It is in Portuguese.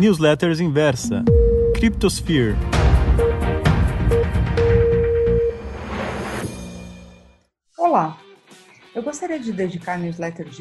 Newsletters Inversa, Cryptosphere. Olá, eu gostaria de dedicar a newsletter de